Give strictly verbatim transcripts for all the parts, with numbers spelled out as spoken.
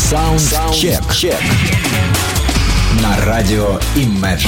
Саундчек. На радио Imagine.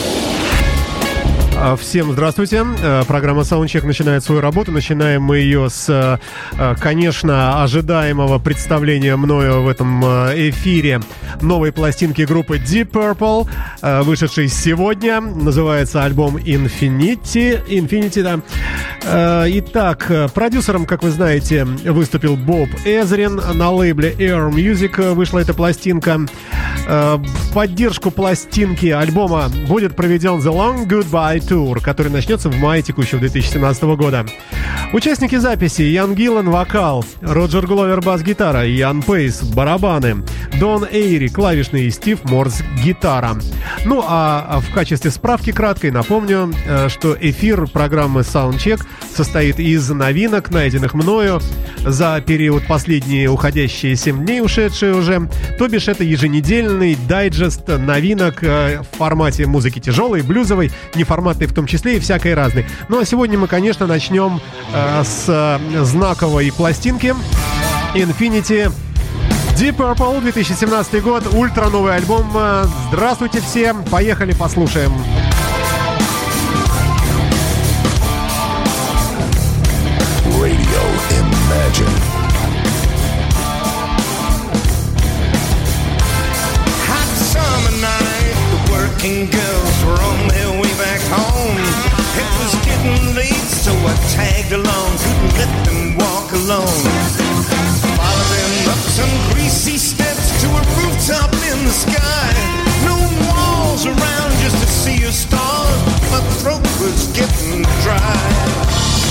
Всем здравствуйте. Программа Soundcheck начинает свою работу. Начинаем мы ее с, конечно, ожидаемого представления мною в этом эфире новой пластинки группы Deep Purple, вышедшей сегодня. Называется альбом Infinity. Infinity, да. Итак, продюсером, как вы знаете, выступил Боб Эзрин. На лейбле Air Music вышла эта пластинка. В поддержку пластинки альбома будет проведен The Long Goodbye Tour, который начнется в мае текущего две тысячи семнадцатого года. Участники записи: Ян Гиллан — вокал, Роджер Гловер — бас-гитара, Ян Пейс — барабаны, Дон Эйри — клавишный и Стив Морс — гитара. Ну а в качестве справки краткой напомню, что эфир программы Soundcheck состоит из новинок, найденных мною за период последние уходящие семь дней, ушедшие уже. То бишь это еженедельный дайджест новинок в формате музыки тяжелой, блюзовой, неформатной в том числе и всякой разной. Ну а сегодня мы, конечно, начнем э, с знаковой пластинки Infinity. Deep Purple, две тысячи семнадцатый год, ультра новый альбом. Здравствуйте всем, поехали, послушаем. Radio Imagine. Hot summer night, the working girls were on their way back home. It was getting late, so I tagged along, couldn't let them walk alone. Followed them up some greasy steps to a rooftop in the sky. No walls around just to see a star, my throat was getting dry.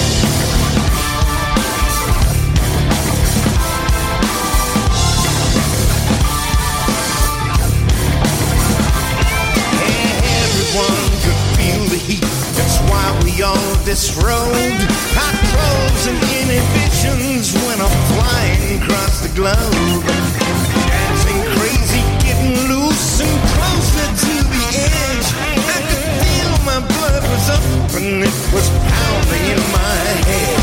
That's why we all disrobed. Hot clothes and inhibitions when I'm flying across the globe. Dancing crazy, getting loose and closer to the edge. I could feel my blood was up and it was pounding in my head.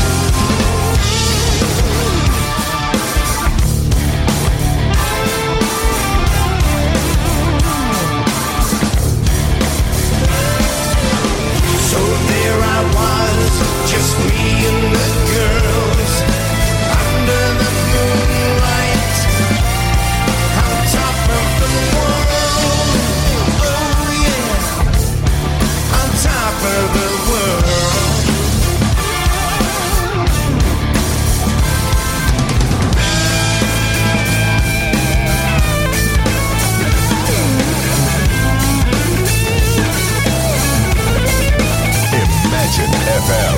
I was just me and the girls under the moonlight on top of the world. Oh yeah, on top of the world. эф эм.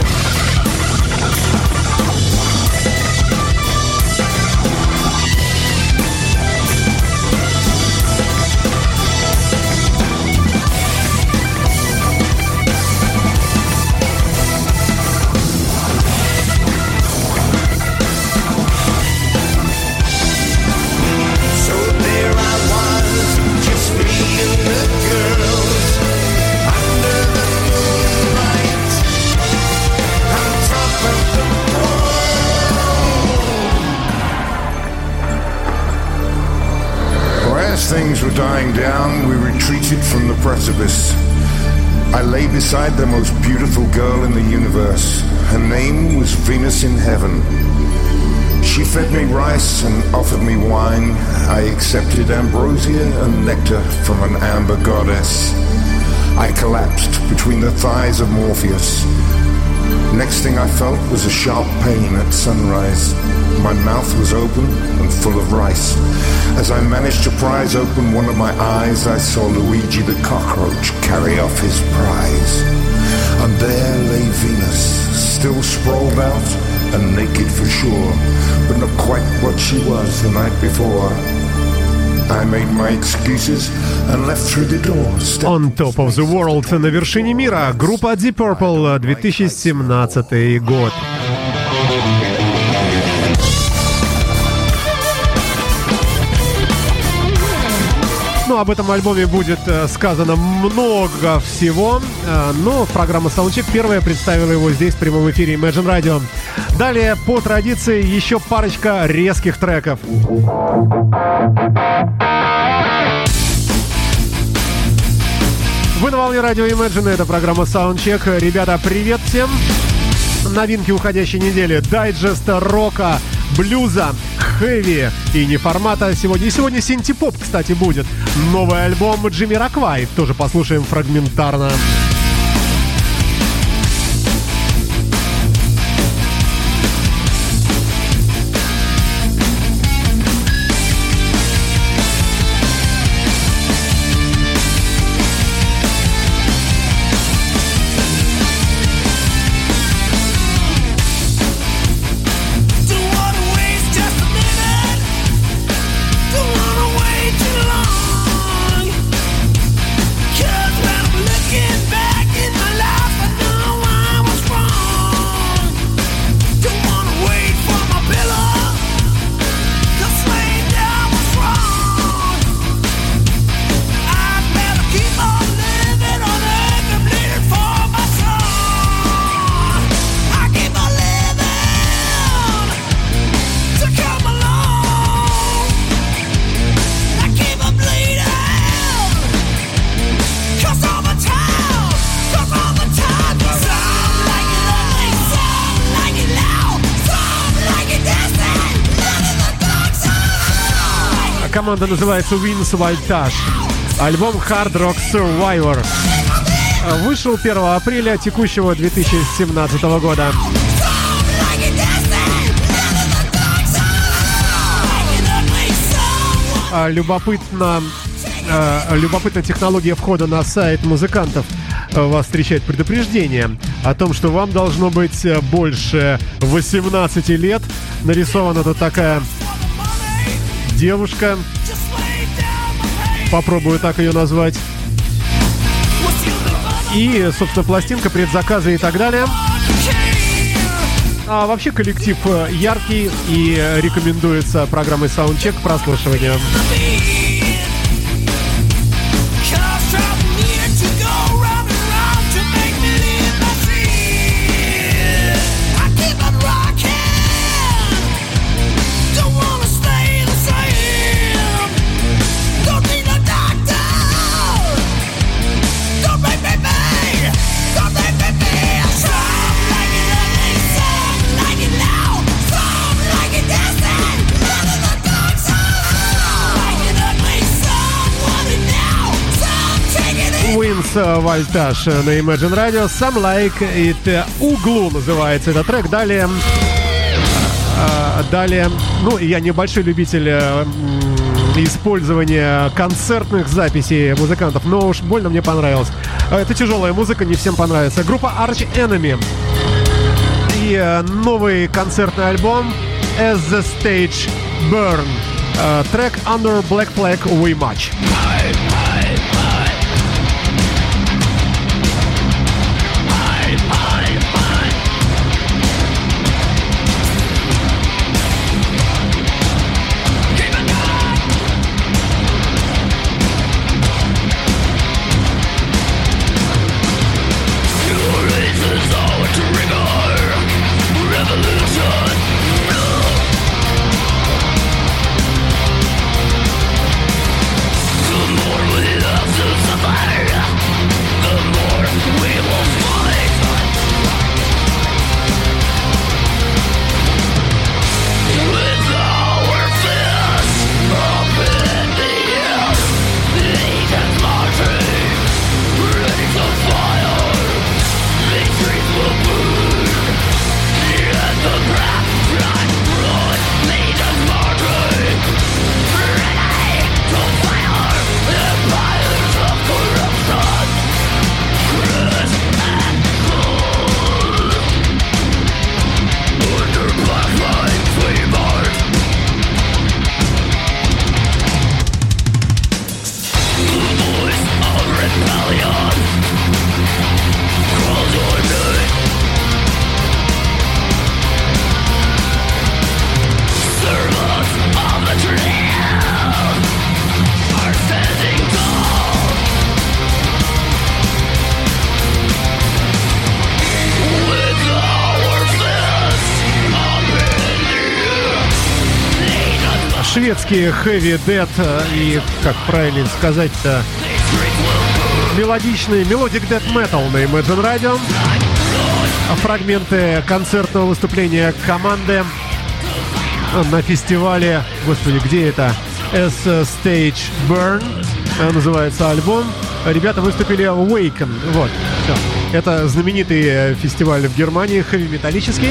Things were dying down, we retreated from the precipice. I lay beside the most beautiful girl in the universe. Her name was Venus in heaven. She fed me rice and offered me wine. I accepted ambrosia and nectar from an amber goddess. I collapsed between the thighs of Morpheus. Next thing I felt was a sharp pain at sunrise. My mouth was open and full of rice. As I managed to prise open one of my eyes, I saw Luigi the cockroach carry off his prize. And there lay Venus, still sprawled out and naked for sure, but not quite what she was the night before. I made my excuses and left through the door. On Top of the World, на вершине мира, группа Deep Purple, две тысячи семнадцатый год. Ну, об этом альбоме будет э, сказано много всего, э, но программа Soundcheck первая представила его здесь в прямом эфире Imagine Radio. Далее, по традиции, еще парочка резких треков. Вы на волне радио Imagine, это программа Soundcheck. Ребята, привет всем! Новинки уходящей недели. Дайджест рока, блюза, хэви и неформата сегодня. И сегодня синти-поп, кстати, будет. Новый альбом Джамироквай. Тоже послушаем фрагментарно. Команда называется Wins Voltage. Альбом Hard Rock Survivor. Вышел первого апреля текущего две тысячи семнадцатого года. Любопытно, любопытная технология входа на сайт музыкантов. Вас встречает предупреждение о том, что вам должно быть больше восемнадцати лет. Нарисована тут такая девушка. Попробую так ее назвать. И, собственно, пластинка, предзаказы и так далее. А вообще коллектив яркий и рекомендуется программой Soundcheck к прослушиванию. Wins Voltage на Imagine Radio. Some Like It. Углу называется этот трек. Далее, э, далее, ну, я небольшой любитель э, использования концертных записей музыкантов, но уж больно мне понравилось. Это тяжелая музыка, не всем понравится. Группа Arch Enemy и э, новый концертный альбом As the Stage Burn. Э, трек Under Black Flag We Match. More шведский heavy death и, как правильно сказать-то, мелодичный melodic death metal на Imagine Radio. Фрагменты концертного выступления команды на фестивале, господи, где это? As Stage Burn называется альбом. Ребята выступили в Awaken. Вот, все. Это знаменитый фестиваль в Германии, хэви-металлический.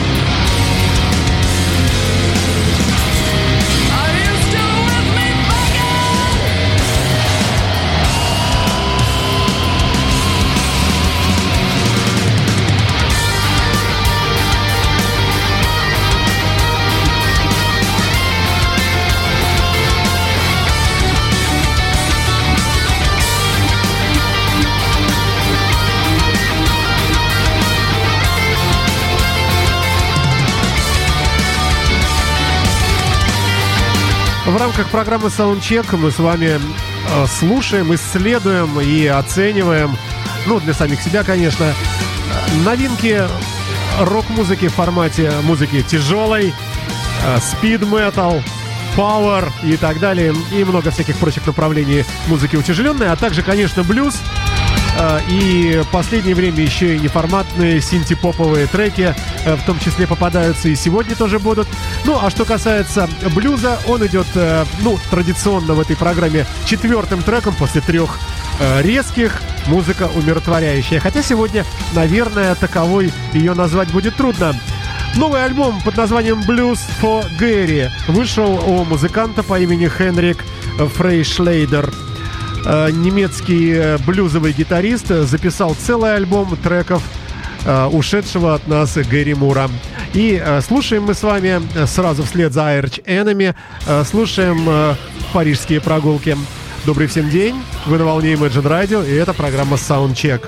В рамках программы Soundcheck мы с вами э, слушаем, исследуем и оцениваем, ну, для самих себя, конечно, новинки рок-музыки в формате музыки тяжелой, э, speed-metal, power и так далее, и много всяких прочих направлений музыки утяжеленной, а также, конечно, блюз. И в последнее время еще и неформатные синти-поповые треки в том числе попадаются, и сегодня тоже будут. Ну, а что касается блюза, он идет, ну, традиционно в этой программе четвертым треком после трех резких, музыка умиротворяющая. Хотя сегодня, наверное, таковой ее назвать будет трудно. Новый альбом под названием Blues for Gary вышел у музыканта по имени Хенрик Фрейшлейдер. Немецкий блюзовый гитарист записал целый альбом треков ушедшего от нас Гэри Мура. И слушаем мы с вами сразу вслед за Arch Enemy, слушаем парижские прогулки. Добрый всем день, вы на волне Imagine Radio, и это программа Soundcheck.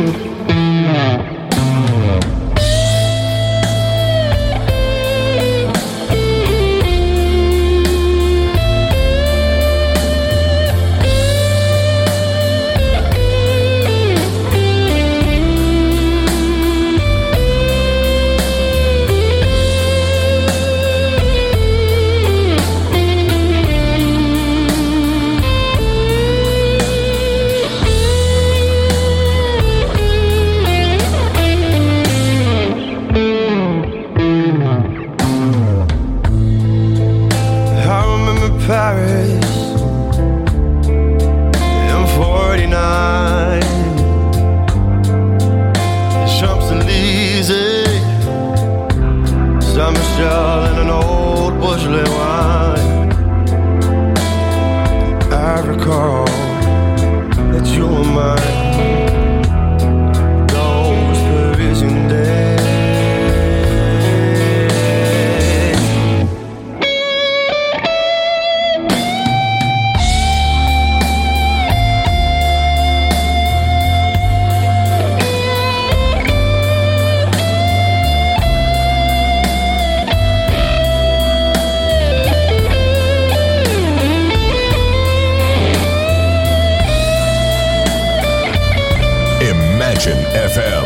эф эм.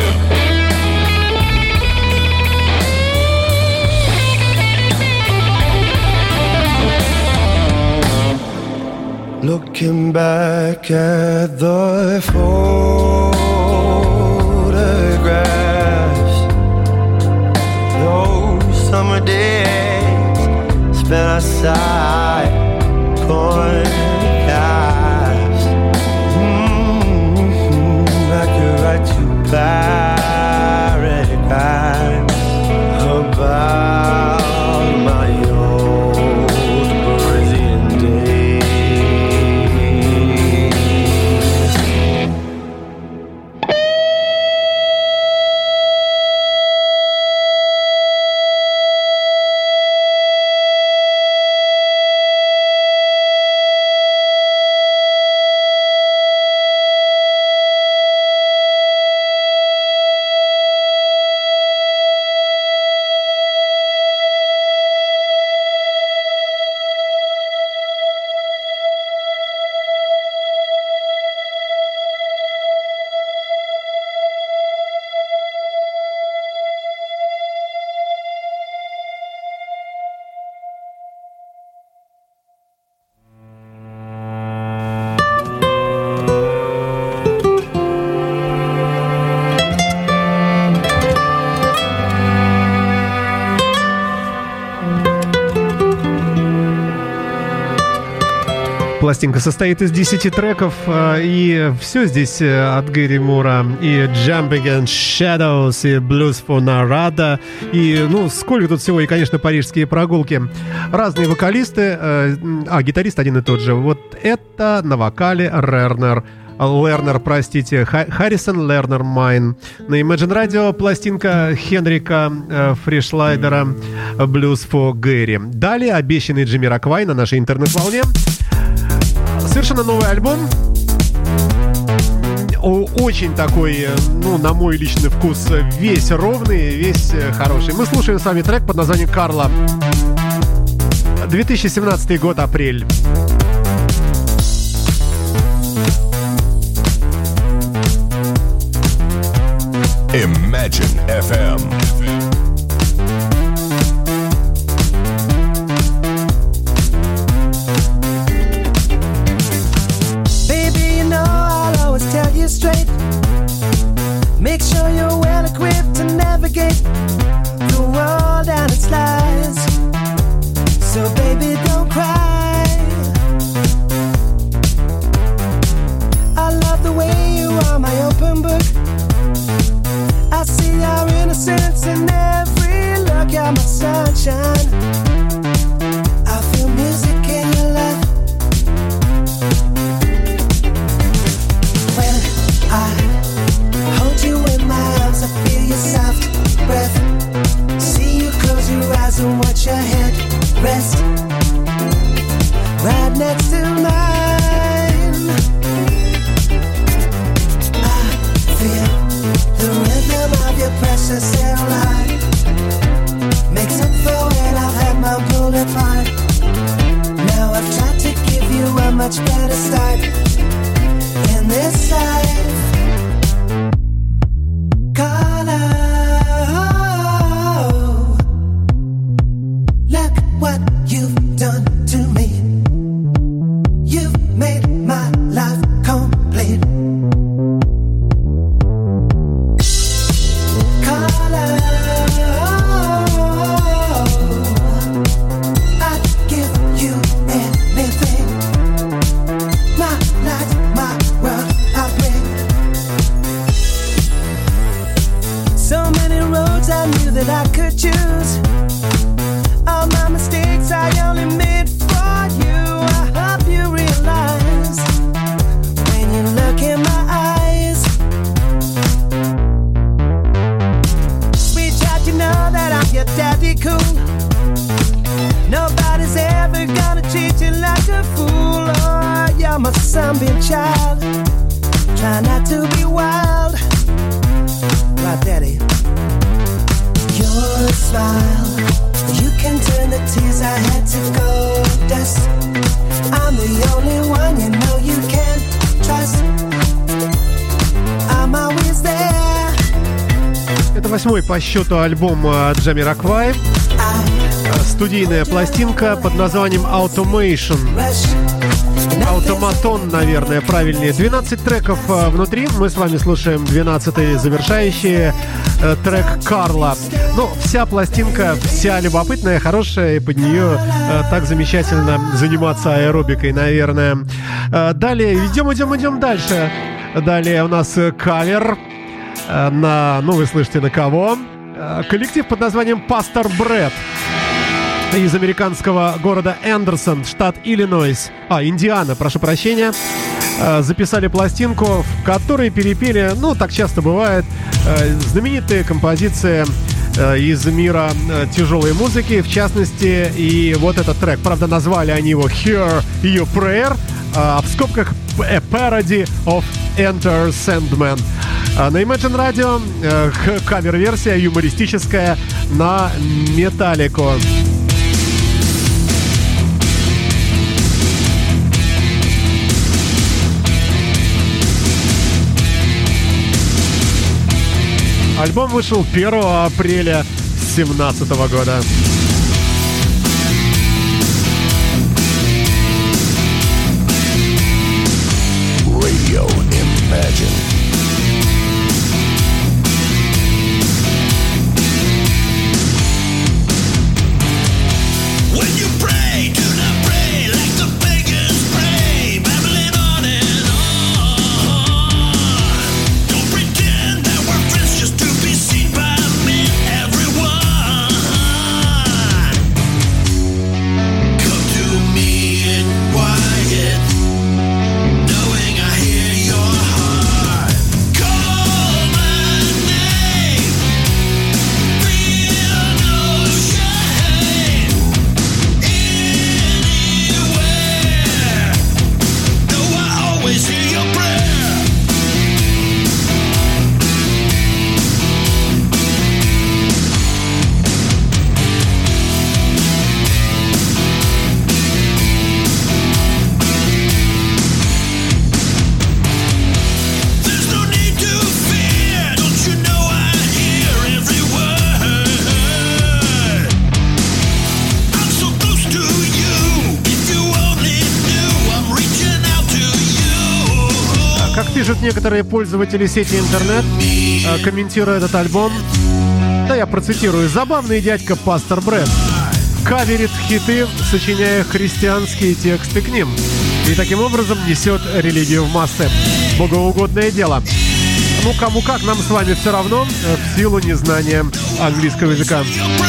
Looking back at the photographs, those summer days spent outside corn calves. Mm-hmm. I could write you paragraphs about my old Parisian days. Пластинка состоит из десяти треков, и все здесь от Гэри Мура. И Jumping and Shadows, и Blues for Narada, и, ну, сколько тут всего, и, конечно, парижские прогулки. Разные вокалисты, а, гитарист один и тот же. Вот это на вокале Лернер. Лернер, простите, Харрисон Лернер Майн. На Imagine Radio пластинка Хенрика э, Фришлайдера Blues for Gary. Далее обещанный Джамироквай на нашей интернет-волне. Совершенно новый альбом. Очень такой, ну, на мой личный вкус, весь ровный, весь хороший. Мы слушаем с вами трек под названием «Карла». две тысячи семнадцатый год, апрель. Imagine эф эм. Tell you straight, make sure you're well equipped to navigate the world and its lies. So baby, don't cry. I love the way you are my open book. I see our innocence in every look. You're my sunshine. I feel music in your life. I hold you in my arms, I feel your soft breath. See you close your eyes and watch your head rest right next to mine. I feel the rhythm of your precious little heart. Makes up for when I've had my pulled apart. Now I've tried to give you a much better start in this life. По счету альбом Джамироквай. Студийная пластинка под названием Automation. Автоматон, наверное, правильнее. двенадцать треков внутри. Мы с вами слушаем двенадцатый завершающий трек «Карла». Ну, вся пластинка, вся любопытная, хорошая, и под нее так замечательно заниматься аэробикой, наверное. Далее, идем, идем, идем дальше. Далее у нас кавер на, ну, вы слышите, на кого? Коллектив под названием Пастор Брэд из американского города Эндерсон, штат Иллинойс, а, Индиана, прошу прощения. Записали пластинку, в которой перепели, ну, так часто бывает, знаменитые композиции из мира тяжелой музыки, в частности, и вот этот трек. Правда, назвали они его Hear Your Prayer, а в скобках A Parody of Enter Sandman. На Imagine Radio э, кавер-версия юмористическая на Металлику. Альбом вышел первого апреля две тысячи семнадцатого года. Radio Imagine. When you pray, do not pray like the pagans pray. пишут некоторые пользователи сети интернет, комментируя этот альбом. Да, я процитирую. «Забавный дядька Пастор Брэд каверит хиты, сочиняя христианские тексты к ним. И таким образом несет религию в массы. Богоугодное дело». Ну, кому как, нам с вами все равно, в силу незнания английского языка.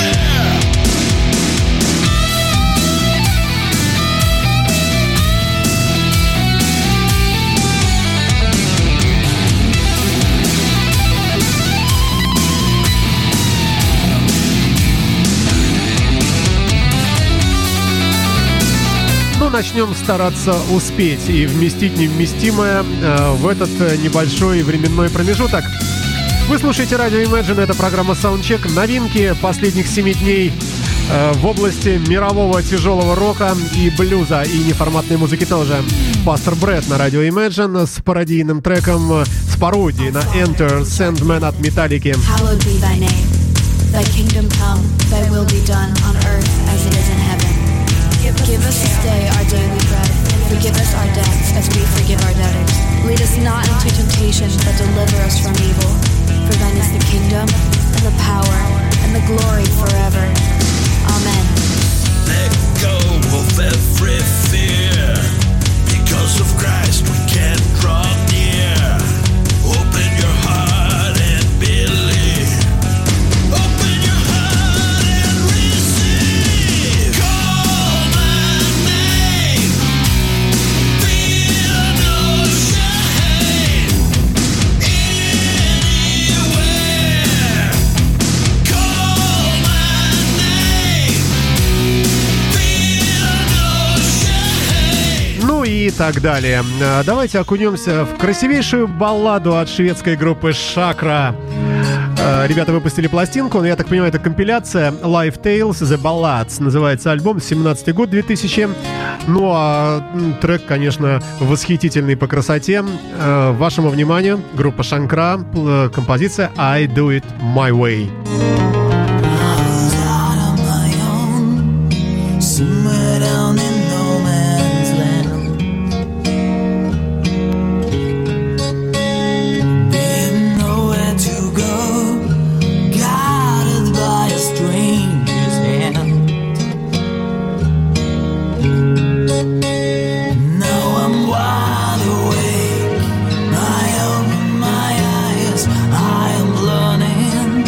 Начнем стараться успеть и вместить невместимое э, в этот небольшой временной промежуток. Вы слушаете радио Imagine, это программа Soundcheck. Новинки последних семи дней э, в области мирового тяжелого рока и блюза, и неформатной музыки тоже. Пастор Брэд на радио Imagine с пародийным треком, с пародией на Enter Sandman от Металлики. Hallowed be thy name, thy kingdom come, thy will be done on earth as it is in heaven. Give us this day our daily bread. Forgive us our debts as we forgive our debtors. Lead us not into temptation, but deliver us from evil. For thine is the kingdom, and the power, and the glory forever. Amen. Let go of every fear. Because of Christ we can draw near. Open your heart and believe. Open your heart and receive. Call my name. Feel no shame. Anywhere. Call my name. Feel no shame. Ну и так далее. А, Давайте окунемся в красивейшую балладу от шведской группы Шакра. А, Ребята выпустили пластинку, но я так понимаю, это компиляция Live Tales The Ballads. Называется альбом, семнадцатый год, две тысячи. Ну а м, трек, конечно, восхитительный по красоте. А, Вашему вниманию группа Шакра, п- композиция I Do It My Way. Somewhere down in no man's land, didn't know where to go, guided by a stranger's hand. Now I'm wide awake, I open my eyes, I am learning.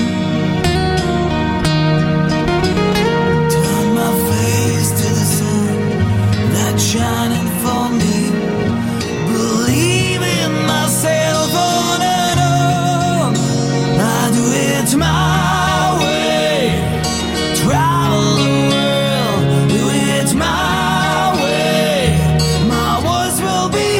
Turn my face to the sun that's shining for me. Believe in myself on and on. I do it my way. Travel the world, do it my way. My words will be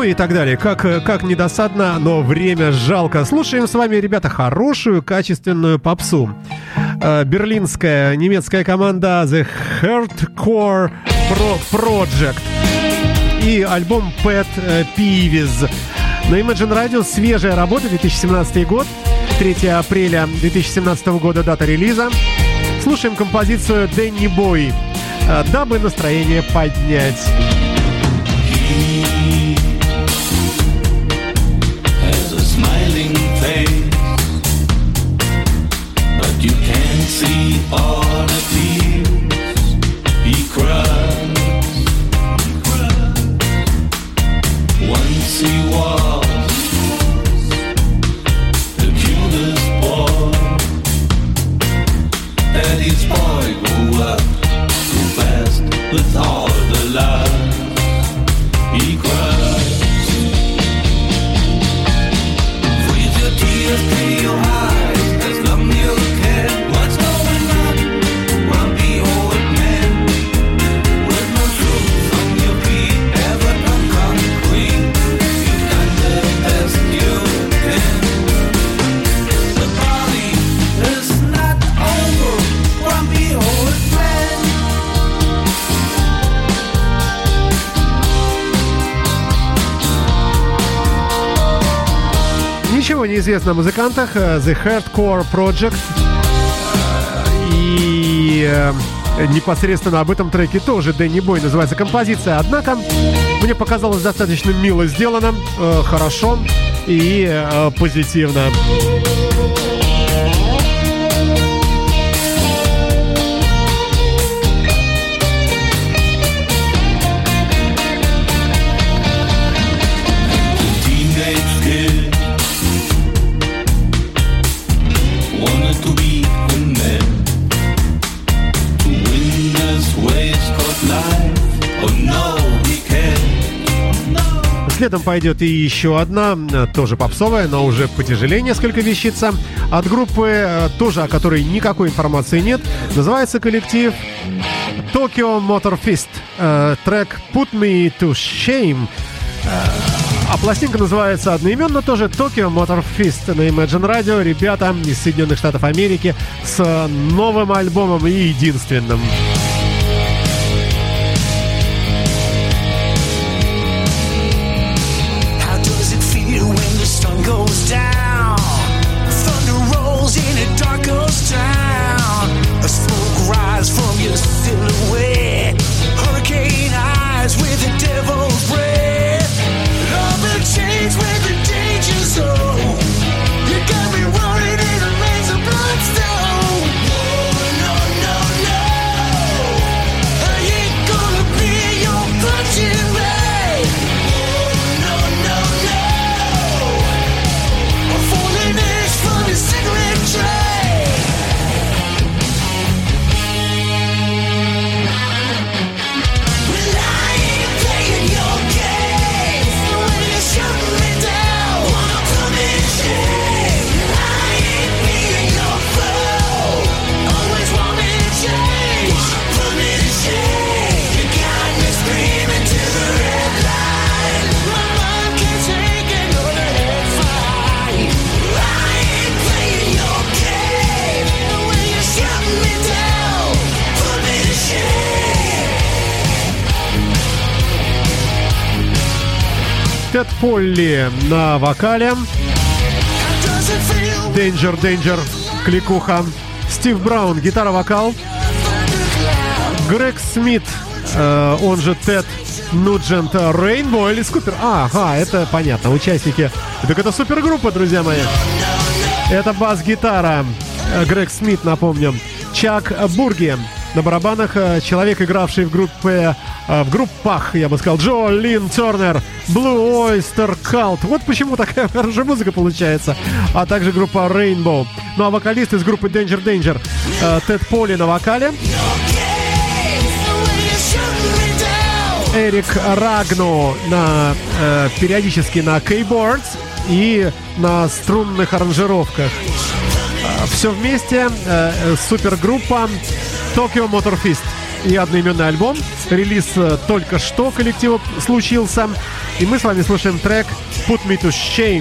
и так далее. Как, как недосадно, но время жалко. Слушаем с вами, ребята, хорошую, качественную попсу. Берлинская немецкая команда The Hardcore Project и альбом Pet Peeves. На Imagine Radio свежая работа, две тысячи семнадцатый год, третьего апреля две тысячи семнадцатого года дата релиза. Слушаем композицию Danny Boy, дабы настроение поднять. You can't see all the tears he cries. Once he was the cutest boy. Daddy's boy grew up too fast with all the lies he cries. Freeze your tears to your eyes as long as you can. What's going on, grumpy old man? With no shoes on your feet, ever come concrete. You've done the best you can. The party is not over, grumpy old man. Ничего не известно о музыкантах. The Hardcore Project. И непосредственно об этом треке тоже Danny Boy называется композиция. Однако мне показалось достаточно мило сделано, хорошо и позитивно. Следом пойдет и еще одна, тоже попсовая, но уже потяжелее несколько вещица. От группы, тоже о которой никакой информации нет. Называется коллектив Tokyo Motor Fist. Трек Put Me to Shame. А пластинка называется одноименно тоже Tokyo Motor Fist на Imagine Radio. Ребята из Соединенных Штатов Америки с новым альбомом и единственным. Goes down, thunder rolls in a dark ghost town. A smoke rise from your silhouette, hurricane eyes with the devil's breath. Love and change with the danger zone. You got me running in a maze of bloodstone. Oh, no, no, no, I ain't gonna be your punching bag. Oh, no, no, no, falling ash from your cigarette tray. Well, I ain't playing your game. When you shut me down, wanna put me in shame. I ain't being your foe. Always want me to change. Put me to shame. You got me screaming to the red light. My mind can't take another head fight. I ain't playing your game. When you shut me down, put me to shame. Тед Полли на вокале. How does it feel? Danger, Danger, кликуха. Стив Браун, гитара-вокал. Грег Смит, э, он же Тед Нуджент, Рейнбо или Скупер. А, ага, это понятно, участники. Так это супергруппа, друзья мои. Это бас-гитара. Грег Смит, напомню. Чак Бурги на барабанах. Человек, игравший в группе, в группах, я бы сказал, Джо Лин Тернер, Blue Oyster Cult. Вот почему такая хорошая музыка получается. А также группа Rainbow. Ну а вокалист из группы Danger Danger Тед Полли на вокале. Эрик Рагно на, э, периодически на кейбордс и на струнных аранжировках. Э, все вместе э, супергруппа Tokyo Motor Fist. и одноименный альбом. Релиз только что коллектива случился. И мы с вами слушаем трек Put Me to Shame.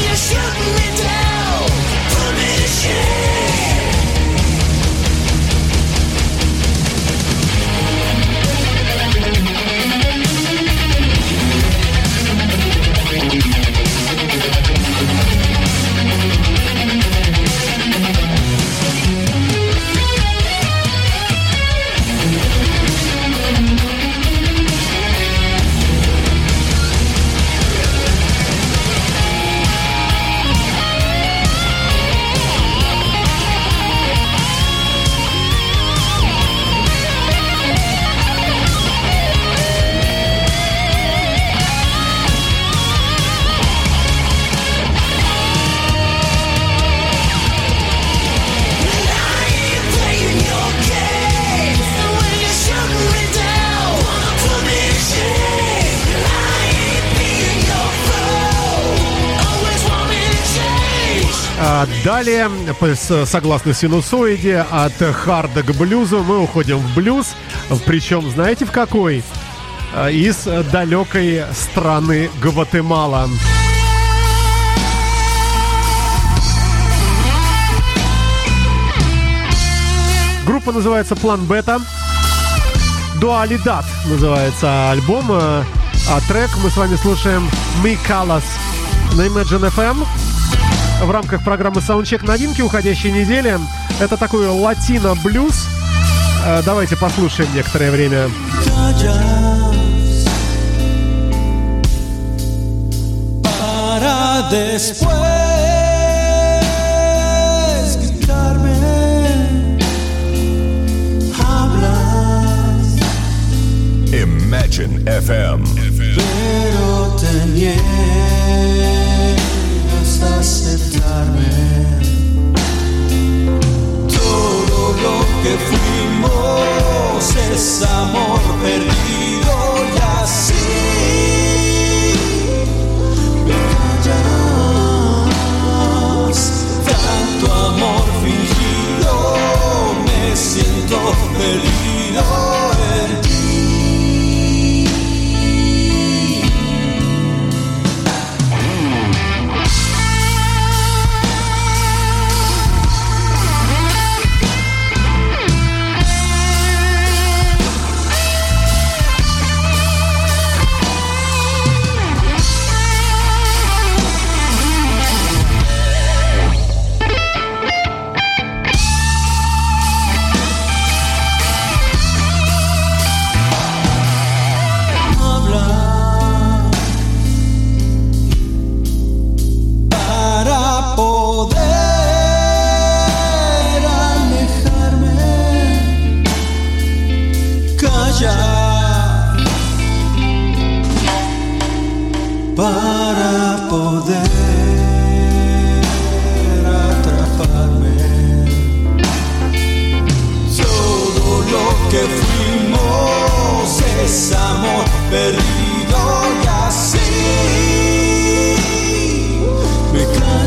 Далее, согласно синусоиде, от харда к блюзу мы уходим в блюз. Причем, знаете, в какой? Из далекой страны Гватемала. Группа называется План Бета. Дуалидад называется альбом. А трек мы с вами слушаем «Mi Calas» на Imagine эф эм. В рамках программы Soundcheck новинки уходящей недели. Это такой латино-блюз. Давайте послушаем некоторое время. Para después gritarme, hablas. Imagine эф эм. Pero te niegas a aceptarme. Todo lo que fuimos es amor perdido y así me callas. Tanto amor fingido, me siento perdido en ti. Para poder atraparme, todo lo que fuimos es amor perdido y así me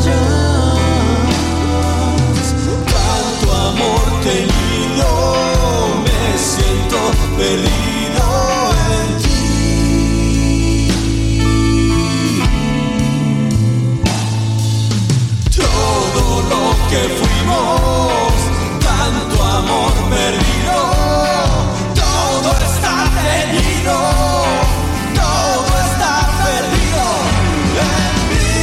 callas. Tanto amor tenido, me siento perdido en ti. Que fuimos, tanto amor perdido, todo está tenido, todo está perdido en mí.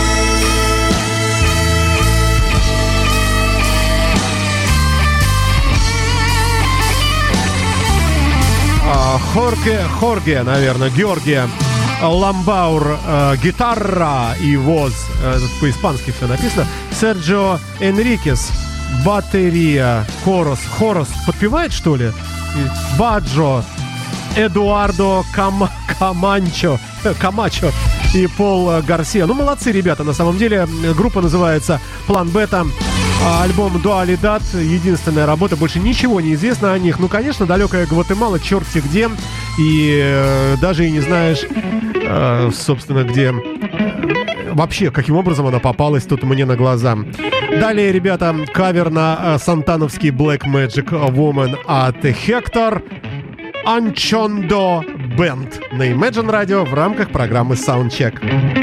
Хорге, Хорге, наверное, Георгия Ламбаур, э, гитара и воз, э, по-испански все написано. Серджио Энрикес, батарея, хорос, хорос, подпевает, что ли? Баджо, Эдуардо Кам, Каманчо, Камачо и Пол Гарсия. Ну, молодцы ребята, на самом деле. Группа называется План Бета. Альбом Дуалидад, единственная работа, больше ничего не известно о них. Ну, конечно, далекая Гватемала, черти где. И э, даже и не знаешь, э, собственно, где вообще, каким образом она попалась тут мне на глаза. Далее, ребята, кавер на э, сантановский Black Magic Woman от Hector. Anchondo Band на Imagine Radio в рамках программы Soundcheck.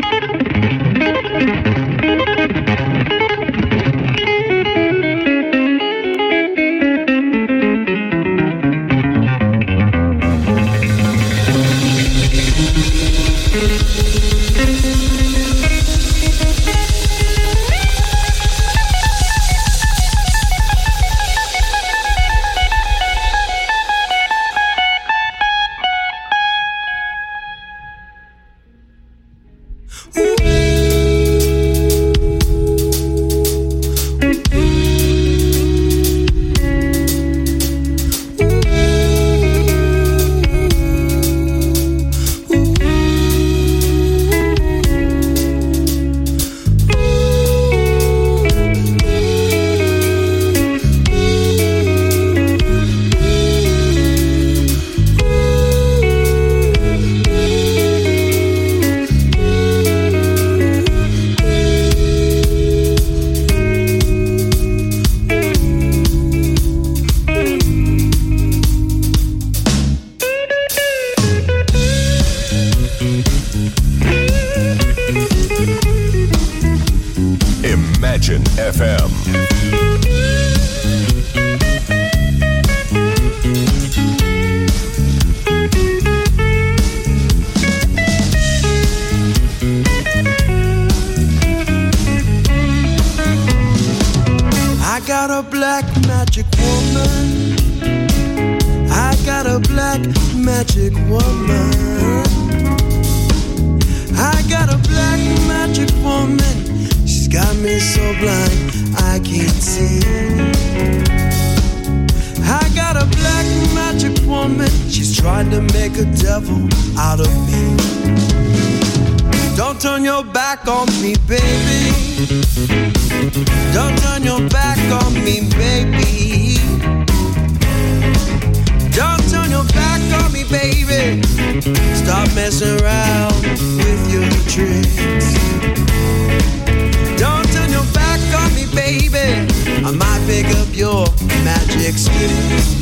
Imagine эф эм. I got a black magic woman. I got a black magic woman. I got a black magic woman. She's got me so blind I can't see. I got a black magic woman. She's trying to make a devil out of me. Don't turn your back on me, baby. Don't turn your back on me, baby. Don't turn your back on me, baby. Stop messing around with your tricks. Don't turn your back on me, baby. I might pick up your magic sticks.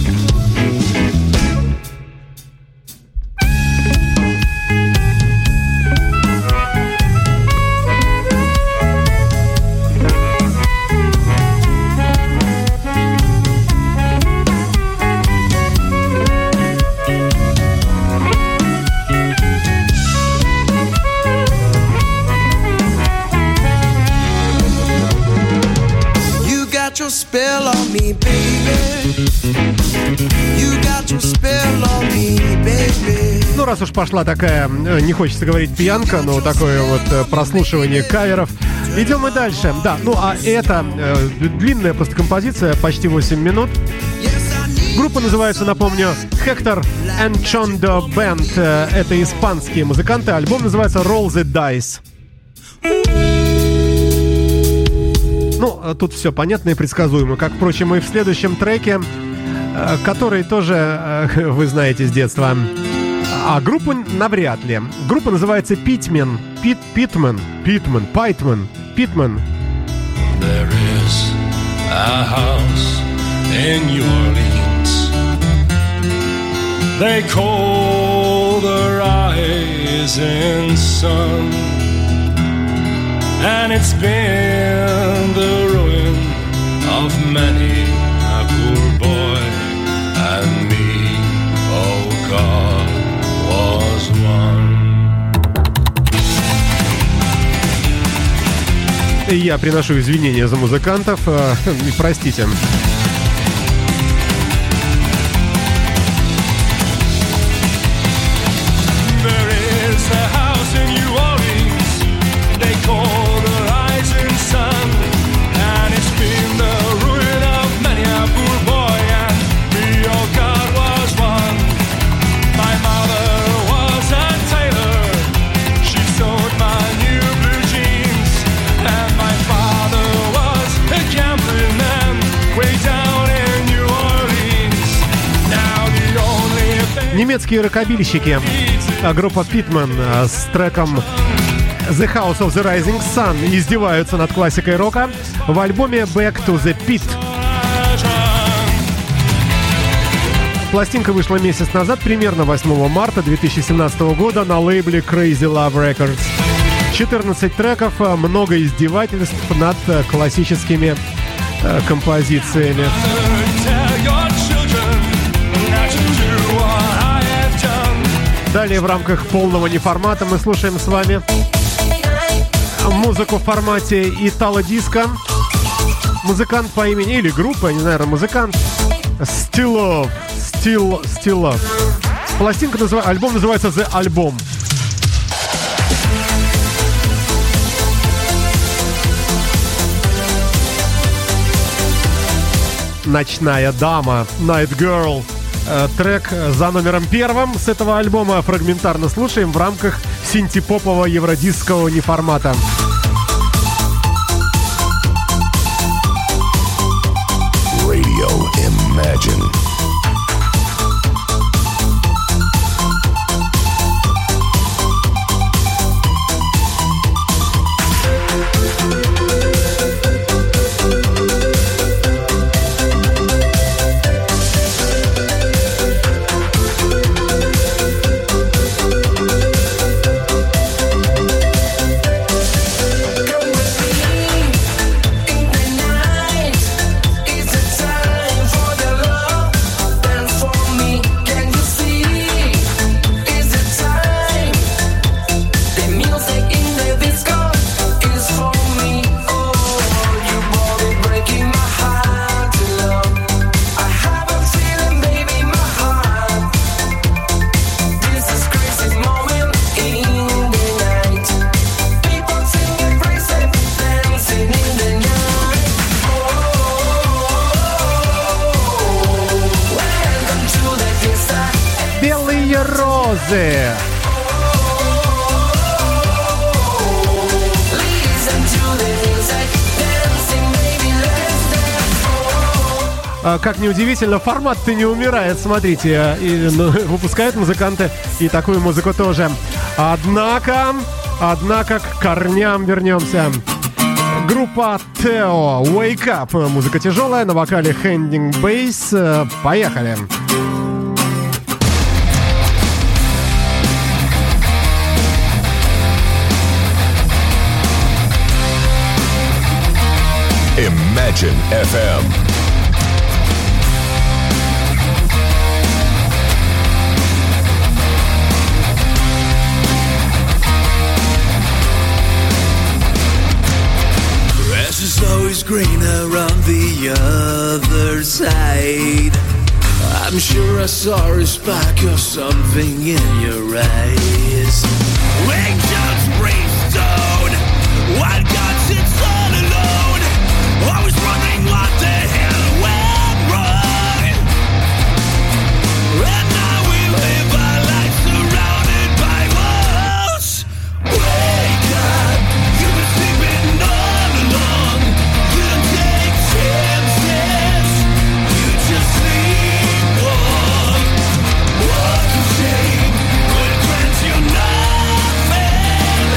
Your spell on me, baby. You got your spell on me, baby. Ну, раз уж пошла такая, не хочется говорить пьянка, но такое вот прослушивание каверов. Идем мы дальше. Да, ну а это э, длинная просто композиция, почти восемь минут. Группа называется, напомню, Hector Anchondo Band. Это испанские музыканты. Альбом называется Roll the Dice. Ну, тут все понятно и предсказуемо, как, впрочем, и в следующем треке, который тоже вы знаете с детства. А группу навряд ли. Группа называется Pitman. Пит, Питмен. Питмен. Питмен. Питмен. There is a house in New Orleans. They call the rising sun. And it's been the ruin of many a poor boy and me, oh God, was one. Я приношу извинения за музыкантов. Простите. Немецкие рокобильщики, группа Pitman с треком The House of the Rising Sun издеваются над классикой рока в альбоме Back to the Pit. Пластинка вышла месяц назад, примерно восьмого марта две тысячи семнадцатого года на лейбле Crazy Love Records. четырнадцать треков, много издевательств над классическими э, композициями. Далее в рамках полного неформата мы слушаем с вами музыку в формате итало-диско. Музыкант по имени, или группа, я не знаю, музыкант Still Love. Still, Still Love. Пластинка называется, альбом называется The Album. Ночная дама, Night Girl. Трек за номером первым с этого альбома фрагментарно слушаем в рамках синтепопового евродискового неформата. Radio Imagine. Как неудивительно, формат-то не умирает, смотрите, и, ну, выпускают музыканты и такую музыку тоже. Однако, однако к корням вернемся. Группа Тео, Wake Up, музыка тяжелая, на вокале Handing Bass. Поехали! Imagine эф эм. Always greener on the other side. I'm sure I saw a spark or something in your eyes. Angels brimstone, wild gods, it's all alone. Always running, what the hell went wrong? And now we live our lives surrounded by walls. Wake up, you've been sleeping all along. You don't take chances, you just sleepwalk. Walk of shame will grant you nothing,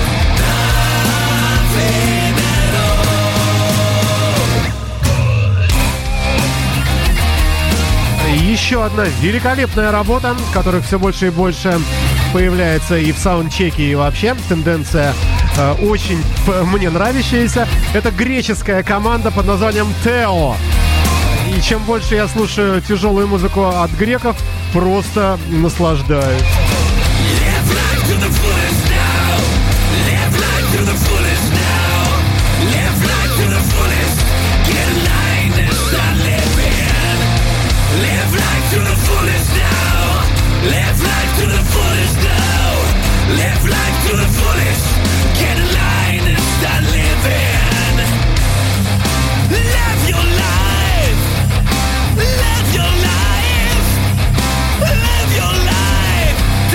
nothing at all. Еще одна великолепная работа, которых все больше и больше появляется и в саундчеке, и вообще. Тенденция э, очень п- мне нравящаяся. Это греческая команда под названием Тео. И чем больше я слушаю тяжелую музыку от греков, просто наслаждаюсь. Live life to the fullest now. Live life to the fullest now. Live life to the fullest. Get in line and start living. Live your life. Live your life. Live your life.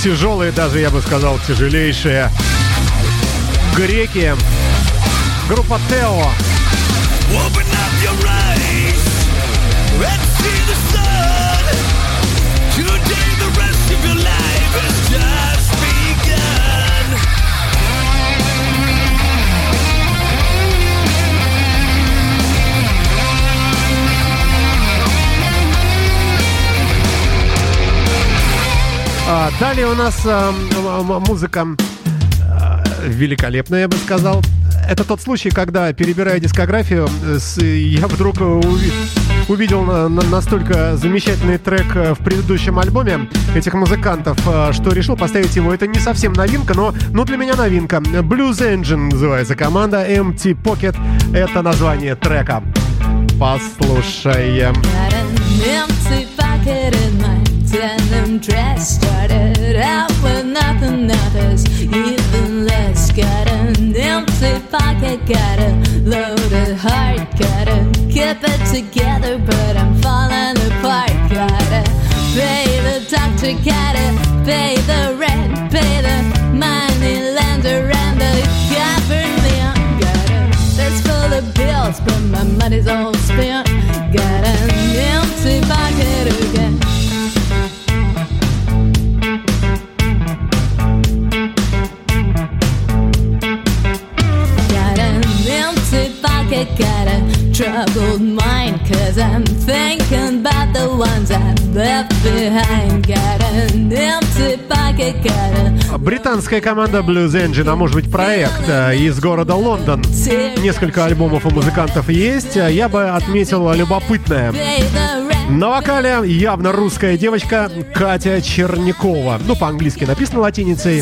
тяжелые, даже я бы сказал, тяжелейшие. Греки. Группа Тео. Open up your eyes and see the sun. Today the rest of your life has just begun. А, далее у нас а, музыка а, великолепная, я бы сказал. Это тот случай, когда, перебирая дискографию, с, я вдруг уви- увидел на, на, настолько замечательный трек в предыдущем альбоме этих музыкантов, что решил поставить его. Это не совсем новинка, но, но для меня новинка. Blues Engine называется команда, Empty Pocket — это название трека. Послушаем. Denim dress started out with nothing others, even less. Got an empty pocket, got a loaded heart, gotta keep it together, but I'm falling apart. Gotta pay the doctor, gotta pay the rent, pay the money lender and the government. Got a list full of bills, but my money's all spent. Got an empty pocket again. Got a troubled mind, cause I'm thinking about the ones I've left behind. Got an empty pocket, got a... Британская команда Blues Engine, а может быть проект из города Лондон. Несколько альбомов у музыкантов есть. Я бы отметил любопытное. На вокале явно русская девочка Катя Чернякова. Ну, по-английски написано латиницей.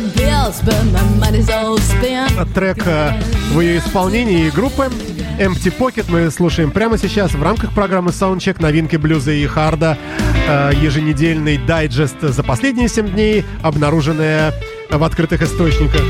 Трек в ее исполнении группы Empty Pocket мы слушаем прямо сейчас в рамках программы Soundcheck, новинки блюза и харда, еженедельный дайджест за последние семь дней, обнаруженные в открытых источниках.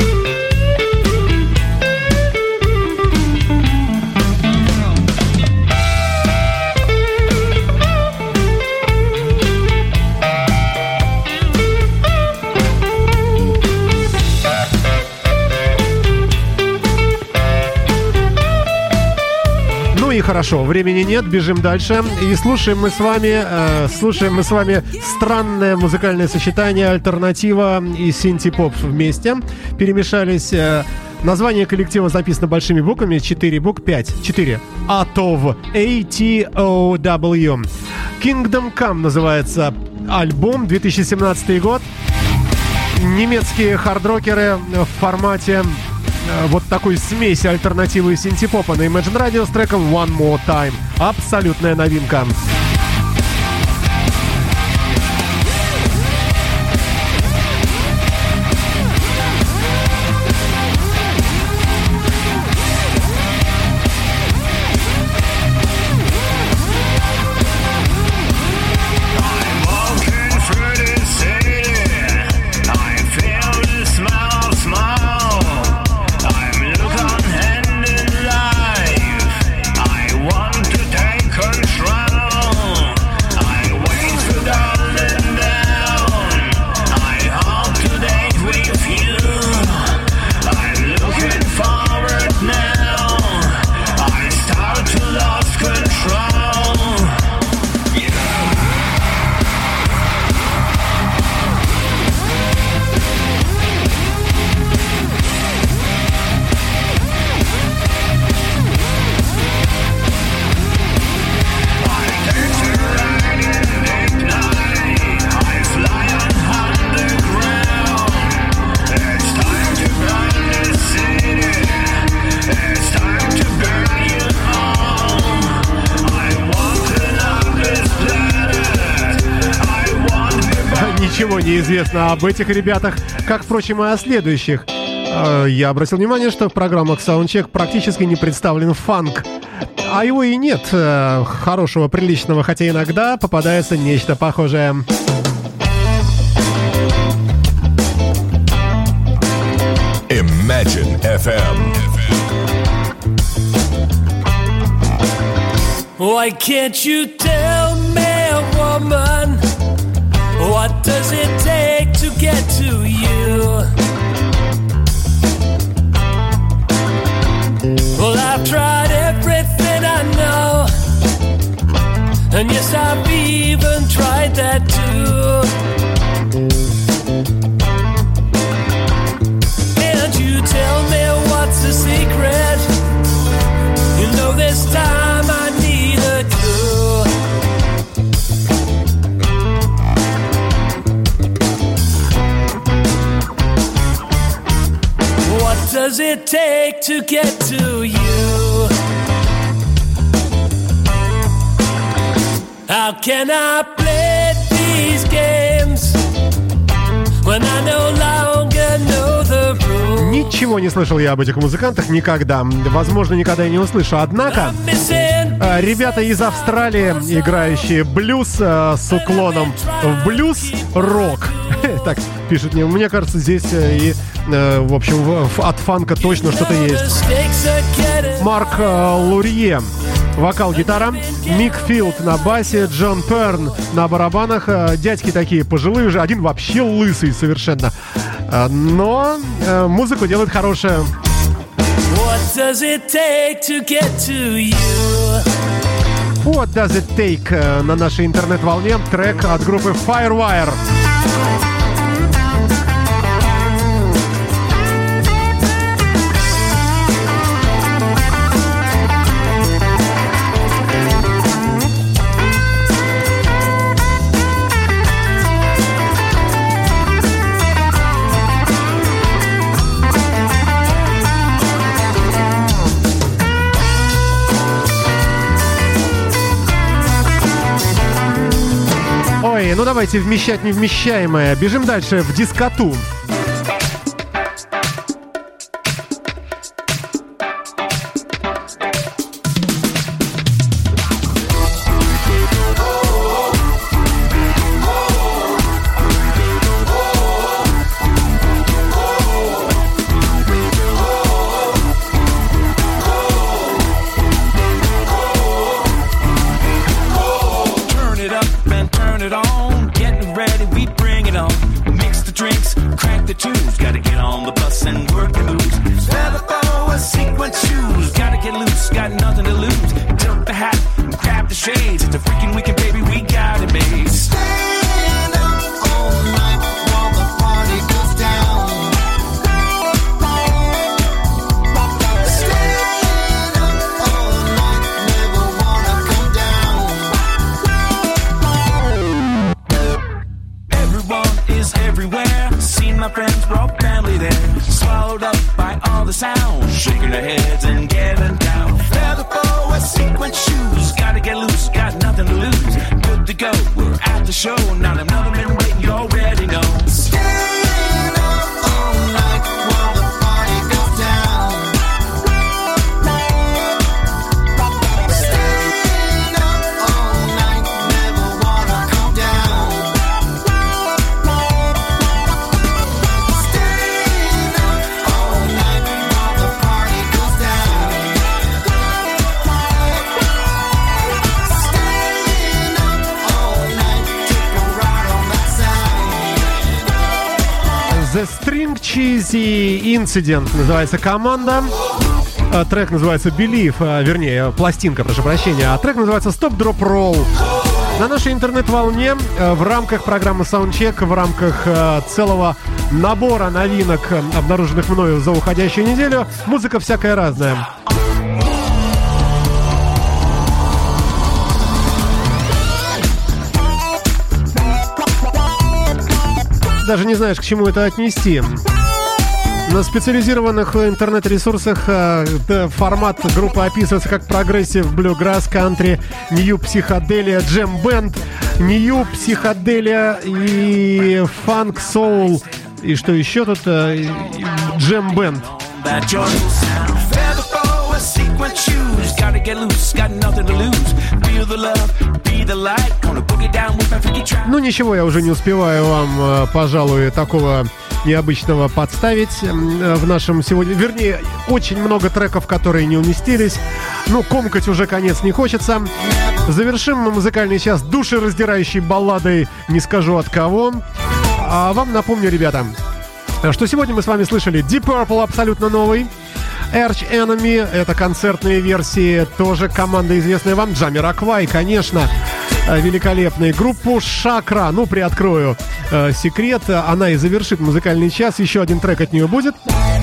И хорошо, времени нет, бежим дальше. И слушаем мы с вами э, слушаем мы с вами странное музыкальное сочетание, альтернатива и синти-поп вместе перемешались. Э, название коллектива записано большими буквами, четыре букв, пять, четыре. A T O W, A T O W. Kingdom Come называется альбом, две тысячи семнадцатый год. Немецкие хардрокеры в формате вот такой смеси альтернативы и синти-попа на Imagine Radio с треком One More Time. Абсолютная новинка. Ничего не известно об этих ребятах, как, впрочем, и о следующих. Я обратил внимание, что в программах Soundcheck практически не представлен фанк. А его и нет, хорошего, приличного, хотя иногда попадается нечто похожее. Imagine эф эм. Why can't you tell me, woman, what does it take to does it take to get to you? How can I play these games when I no longer know the rules? Ничего не слышал я об этих музыкантах никогда. Возможно, никогда и не услышу. Однако, ребята из Австралии, играющие блюз с уклоном в блюз-рок. Так пишет мне. Мне кажется, здесь и, в общем, от фанка точно что-то есть. Марк Лурье. Вокал, гитара. Мик Филд на басе. Джон Перн на барабанах. Дядьки такие пожилые уже. Один вообще лысый совершенно. Но музыку делает хорошая. What does it take to get to you? What does it take на нашей интернет-волне. Трек от группы Firewire. Ну давайте вмещать невмещаемое. Бежим дальше в дискоту. The String Cheesy Incident называется команда. Трек называется Believe, вернее, пластинка, прошу прощения. А трек называется Stop Drop Roll. На нашей интернет-волне в рамках программы Soundcheck, в рамках целого набора новинок, обнаруженных мною за уходящую неделю, музыка всякая разная. Даже не знаешь, к чему это отнести. На специализированных интернет-ресурсах э, формат группы описывается как прогрессив, блюграсс, кантри, нью психоделия, джем-бенд, нью психоделия и фанк, соул. И что еще тут? Э, джем-бенд. Ну ничего, я уже не успеваю вам, пожалуй, такого необычного подставить в нашем сегодня. Вернее, очень много треков, которые не уместились. Ну, комкать уже конец не хочется. Завершим мы музыкальный час душераздирающей балладой «Не скажу от кого». А вам напомню, ребята, что сегодня мы с вами слышали Deep Purple, абсолютно новый. Arch Enemy, это концертные версии, тоже команда известная вам. Jamiroquai, конечно, великолепная. Группу Шакра, ну, приоткрою э, секрет, она и завершит музыкальный час. Еще один трек от нее будет.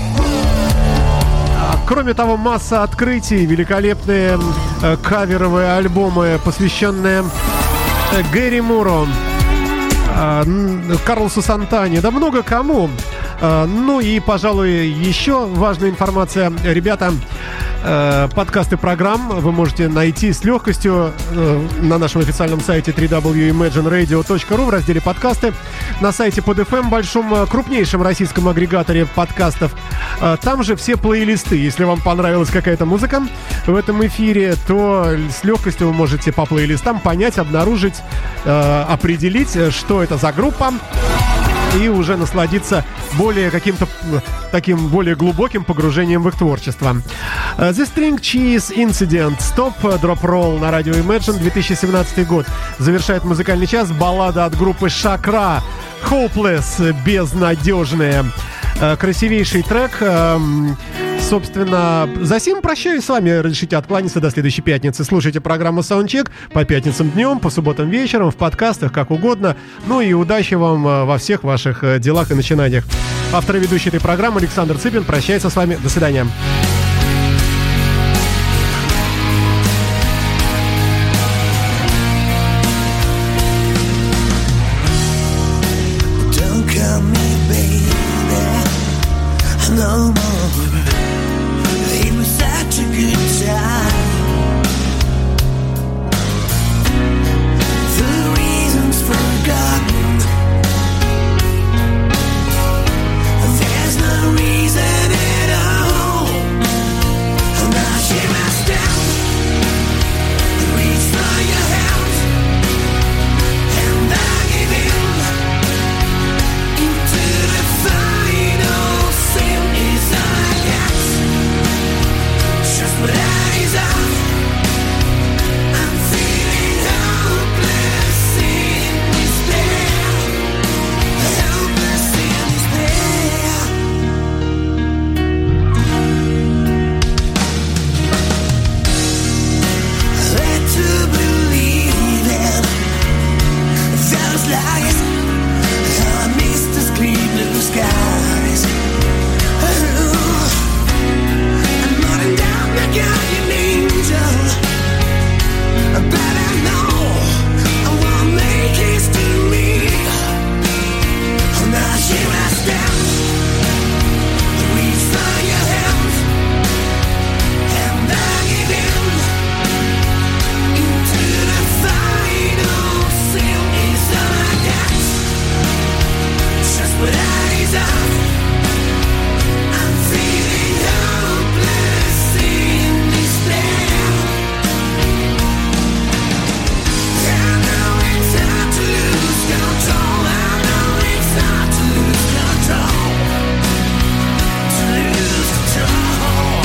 Кроме того, масса открытий, великолепные э, каверовые альбомы, посвященные э, Гэри Муру, э, Карлосу Сантане, да много кому. Ну и, пожалуй, еще важная информация. Ребята, подкасты программ вы можете найти с легкостью на нашем официальном сайте дабл ю дабл ю дабл ю точка имэджин радио точка ру в разделе «Подкасты», на сайте под эф эм, большом, крупнейшем российском агрегаторе подкастов. Там же все плейлисты. Если вам понравилась какая-то музыка в этом эфире, то с легкостью вы можете по плейлистам понять, обнаружить, определить, что это за группа, и уже насладиться более каким-то таким более глубоким погружением в их творчество. The String Cheese Incident, Stop, Drop Roll на радио Imagine, две тысячи семнадцатый год. Завершает музыкальный час баллада от группы Шакра, Hopeless, безнадежная. Красивейший трек. Собственно, за сим прощаюсь с вами. Разрешите откланяться до следующей пятницы. Слушайте программу Soundcheck по пятницам днем, по субботам вечером, в подкастах, как угодно. Ну и удачи вам во всех ваших делах и начинаниях. Автор и ведущий этой программы Александр Цыпин прощается с вами. До свидания. No more. It was such a good time. The reasons forgotten. There's no reason at all. Now she must down. Reach for your hands, and I give in into the final sin. Is all I got. Just what I deserve. I'm feeling hopeless in despair. Hopeless in despair. Led to believe in those lies. I missed the clear blue skies. I'm running down the guardian angel, but I know I won't make history. Now she must down, reach for your hands, and I give in into the final sin. Is all I got, just what I deserve. I'm feeling hopeless in despair. I know it's hard to lose control. I know it's hard to lose control. To lose control.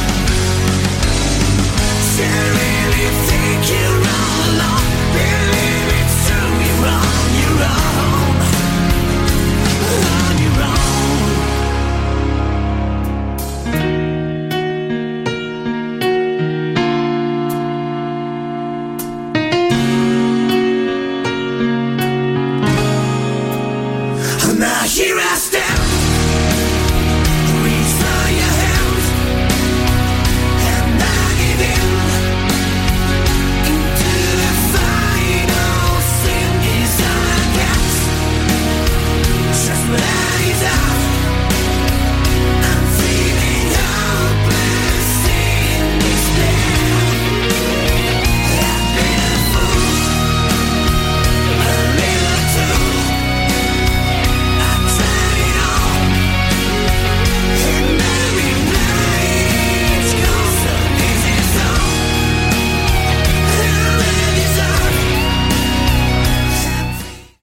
Can't really think you're all alone. Believe it's true, you're wrong, you're wrong. On your own. Now here I stand.